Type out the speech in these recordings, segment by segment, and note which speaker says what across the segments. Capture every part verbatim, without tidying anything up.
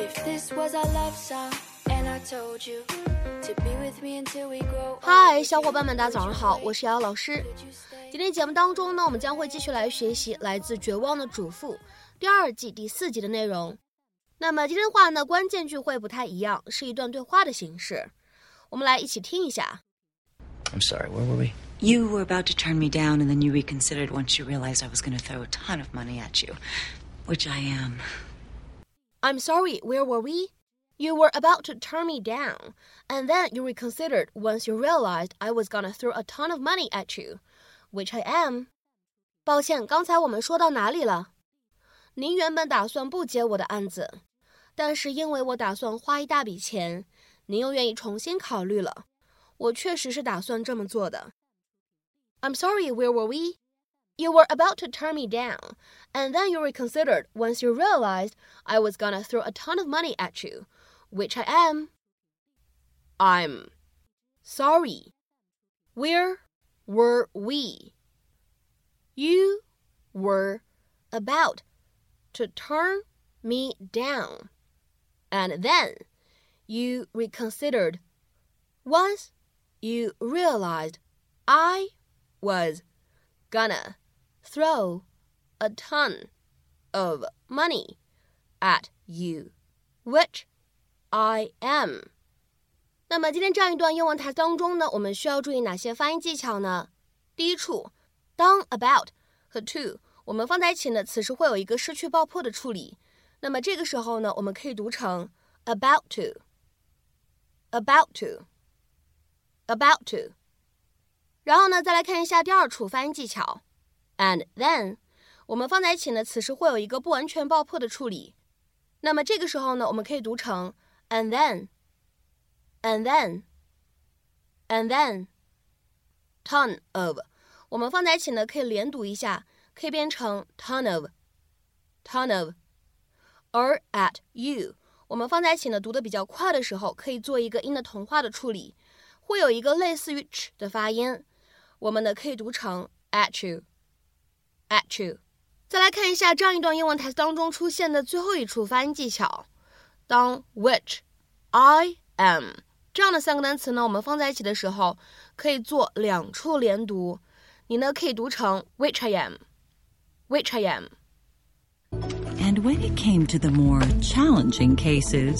Speaker 1: 嗨，小伙伴们，大家早上好，我是瑶瑶老师。今天节目当中呢，我们将会继续来学习来自《绝望的主妇》第二季第四集的内容。那么今天的话呢，关键句会不太一样，是一段对话的形式。我们来一起听一下。
Speaker 2: I'm sorry, where were we?
Speaker 3: You were about to turn me down, and then you reconsidered once you realized I was going to throw a ton of money at you, which I am.
Speaker 1: I'm sorry, where were we? You were about to turn me down, and then you reconsidered once you realized I was going to throw a ton of money at you, which I am. 抱歉，刚才我们说到哪里了？您原本打算不接我的案子，但是因为我打算花一大笔钱，您又愿意重新考虑了。我确实是打算这么做的。I'm sorry, where were we? You were about to turn me down, and then you reconsidered once you realized I was gonna throw a ton of money at you, which I am. I'm sorry. Where were we? You were about to turn me down, and then you reconsidered once you realized I was gonna throw a ton of money at you, which I am. 那么今天这样一段英文台词当中呢，我们需要注意哪些发音技巧呢？第一处，当 about 和 to 我们放在一起呢，此时会有一个失去爆破的处理。那么这个时候呢，我们可以读成 about to, about to, about to。然后呢，再来看一下第二处发音技巧 and then 我们放在一起呢，此时会有一个不完全爆破的处理。那么这个时候呢，我们可以读成 and then, and then, and then, ton of 我们放在一起呢，可以连读一下，可以变成 ton of, ton of。而 at you 我们放在一起呢，读得比较快的时候，可以做一个音的同化的处理，会有一个类似于 ch 的发音，我们呢可以读成 at you, at you。再来看一下这样一段英文台词当中出现的最后一处发音技巧，当 which, I am 这样的三个单词呢，我们放在一起的时候，可以做两处连读，你呢可以读成 which I am, which I am。
Speaker 3: And when it came to the more challenging cases,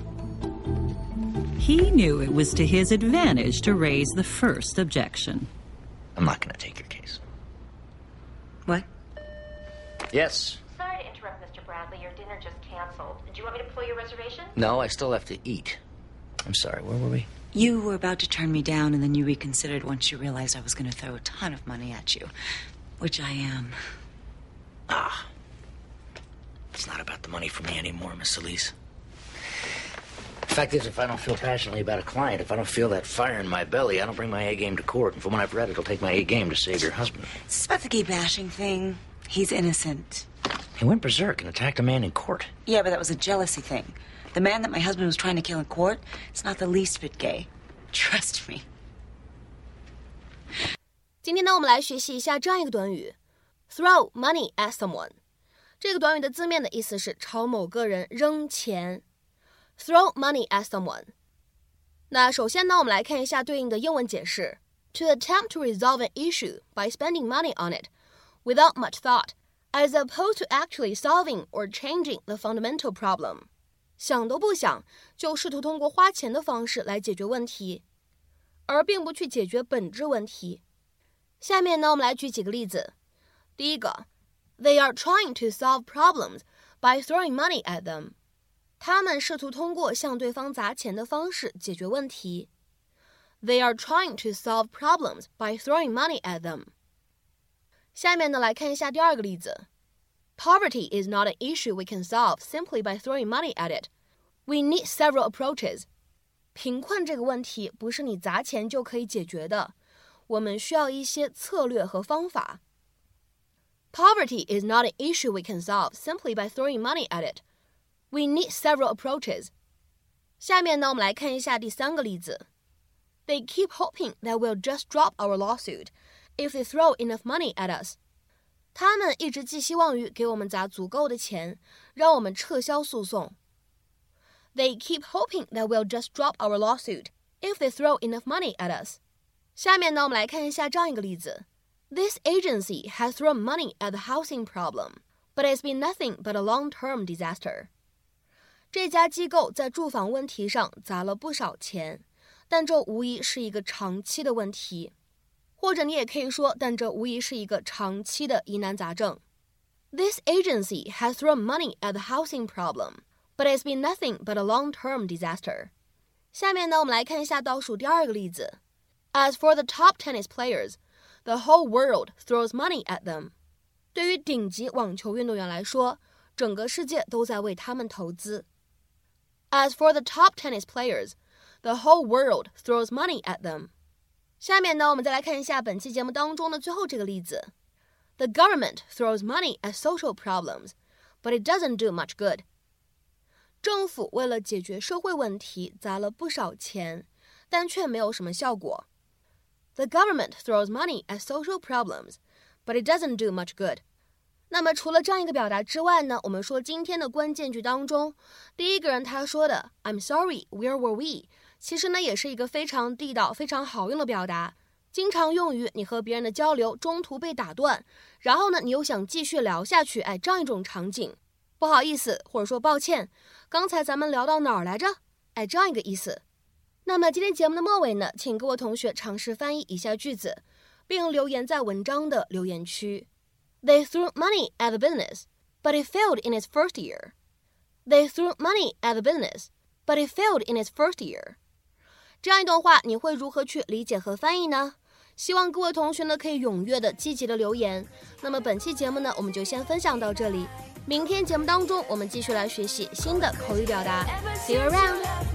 Speaker 3: he knew it was to his advantage to raise the first objection.
Speaker 2: I'm not going to take your case.
Speaker 3: What?
Speaker 2: Yes.
Speaker 4: Sorry to interrupt, Mister Bradley. Your dinner just canceled. Did you want me to pull your reservation?
Speaker 2: No, I still have to eat. I'm sorry, where were we?
Speaker 3: You were about to turn me down, and then you reconsidered once you realized I was going to throw a ton of money at you, which I am.
Speaker 2: Ah. It's not about the money for me anymore, Miss Elise. The fact is, if I don't feel passionately about a client, if I don't feel that fire in my belly, I don't bring my A game to court. And from what I've read, it'll take my A game to save your husband.
Speaker 3: It's about the gay bashing thing. He's innocent.
Speaker 2: He went berserk and attacked a man in court.
Speaker 3: Yeah, but that was a jealousy thing. The man that my husband was trying to kill in court is not the least bit gay. Trust me.
Speaker 1: 今天呢，我们来学习一下这样一个短语 throw money at someone。这个短语的字面的意思是朝某个人扔钱 throw money at someone。 那首先呢，我们来看一下对应的英文解释 To attempt to resolve an issue by spending money on it without much thought, as opposed to actually solving or changing the fundamental problem。 想都不想就试图通过花钱的方式来解决问题，而并不去解决本质问题。下面呢，我们来举几个例子。第一个They are trying to solve problems by throwing money at them. 他们试图通过向对方砸钱的方式解决问题。They are trying to solve problems by throwing money at them. 下面呢，来看一下第二个例子。Poverty is not an issue we can solve simply by throwing money at it. We need several approaches. 贫困这个问题不是你砸钱就可以解决的，我们需要一些策略和方法。Poverty is not an issue we can solve simply by throwing money at it. We need several approaches. 下面呢，我们来看一下第三个例子。They keep hoping that we'll just drop our lawsuit if they throw enough money at us. 他们一直寄希望于给我们砸足够的钱，让我们撤销诉讼。 They keep hoping that we'll just drop our lawsuit if they throw enough money at us. 下面呢，我们来看一下这样一个例子。This agency has thrown money at the housing problem, but it's been nothing but a long-term disaster. 这家机构在住房问题上砸了不少钱，但这无疑是一个长期的问题。或者你也可以说，但这无疑是一个长期的疑难杂症。This agency has thrown money at the housing problem, but it's been nothing but a long-term disaster. 下面呢，我们来看一下倒数第二个例子。As for the top tennis players, the whole world throws money at them. 对于顶级网球运动员来说，整个世界都在为他们投资。As for the top tennis players, the whole world throws money at them. 下面呢，我们再来看一下本期节目当中的最后这个例子。The government throws money at social problems, but it doesn't do much good. 政府为了解决社会问题砸了不少钱，但却没有什么效果。The government throws money at social problems, but it doesn't do much good. 那么除了这样一个表达之外呢，我们说今天的关键句当中，第一个人他说的 I'm sorry, where were we? 其实呢也是一个非常地道、非常好用的表达，经常用于你和别人的交流中途被打断，然后呢你又想继续聊下去，哎，这样一种场景。不好意思，或者说抱歉，刚才咱们聊到哪儿来着？哎，这样一个意思。那么今天节目的末尾呢，请各位同学尝试翻译以下句子，并留言在文章的留言区。They threw money at the business, but it failed in its first year. They threw money at the business, but it failed in its first year. 这样一段话，你会如何去理解和翻译呢？希望各位同学呢可以踊跃的、积极的留言。那么本期节目呢，我们就先分享到这里。明天节目当中，我们继续来学习新的口语表达。See you around.